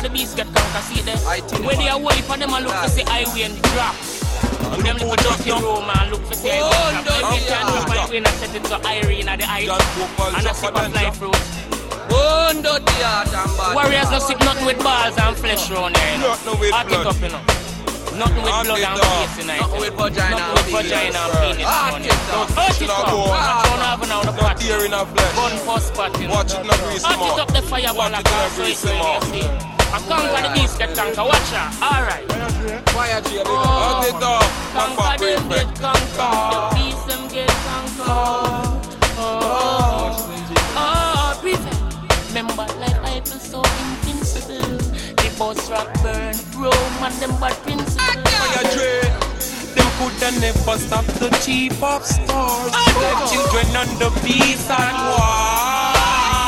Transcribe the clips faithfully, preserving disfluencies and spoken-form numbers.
the beast get conquer, see them. When they are holy for them, I look to see highway and drop. And them look dirty room and look for say highway and drop. Every time you find way and set it to Irene at the ice. And I sip a fly fruit. Warriors don't sip nothing with balls and flesh round here, you know. Nothing with blood. It up, you know. Nothing with blood and face tonight. Nothing with vagina and vagina and penis round here. Don't hurt it up. Watch on over now the pot. Gun for spotting. Watch it not grease more. Hurt it up the fireball across so it's when you see. I conquer the beast get conquer. Watch out. Alright. Fire tree. Hurt it up. Conquer them get conquer. The beast them get conquer. Oh. Oh. Prefect. Remember like I feel so invincible. The boss rock burn, Rome and them bad principles. Fire trade. Them coulda never stop the chief of stars. The children on the peace and war.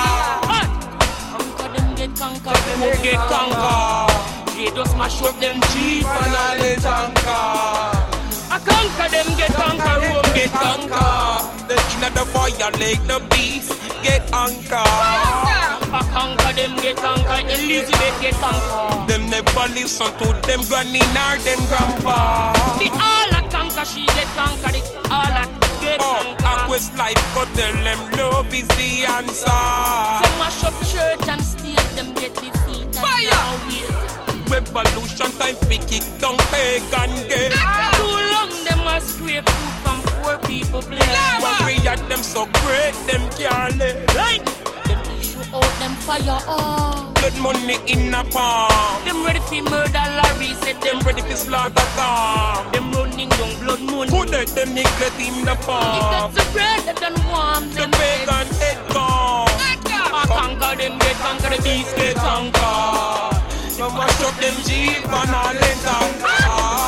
Conquer them get conquer, them get conquer. They just smash up them chief and all the tanker. I conquer them get conquer, Rome get conquer. The inner the fire like the beast get anchor. I conquer them, get conquer, Elizabeth get conquer. Them never listen to them granny nor them grandpa. The all that conquer, she get conquer. The all that get oh, conquer. Aqua's life, but tell them love is the answer. Them mash up church and steal, them get defeated. Fire! Revolution time, we kick down pagan gate. Too long, them a scrape food from poor people place. But we at them so great, them can't live. Right? Out them fire on. Blood money in a palm. Them ready for murder Larry. Said them ready for slaughter Tom. Them running down blood money. Put it them neglect in the palm. If that's the bread that done warm them. The pagan head gone. I conquer them, get conquer the beast, get conquer. So mash up them jeep and all in conquer.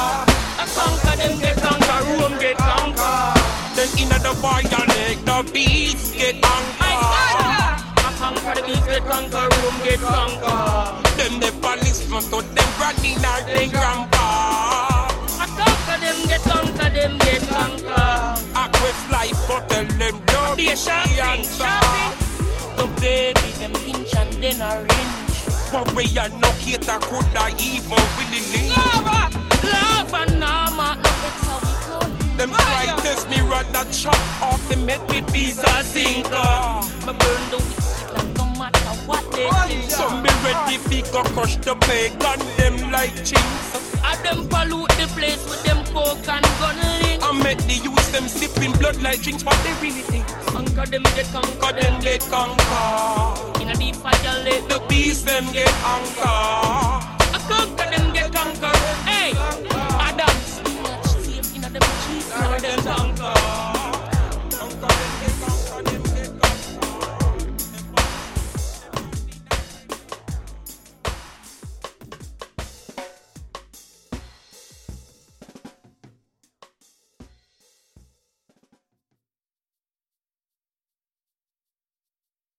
I conquer them, get conquer, Rome get conquer. Then in the fire leg, the beast get conquer. Conquer the beast, get conquer, Rome get conquer. Them the police must to them granny nor them grandpa. I conquer them, get conquer, them get conquer. I quest life, but tell them don't be shopping, shopping. The baby, them pinch and then orange. But we are no cater, could I even willingly. Lava, lava, nama, no it's how we go. Them try test me, rather chop off the met with visa sinker. I burn the what they think. Some be ready to go crush the bacon, them like chinks. I them pollute the place with them coke and gun links. I met the use them sipping blood like drinks, what they really think. Conquer them get conquer, them get conquer. In a deep fire lake, the beast them get anchor.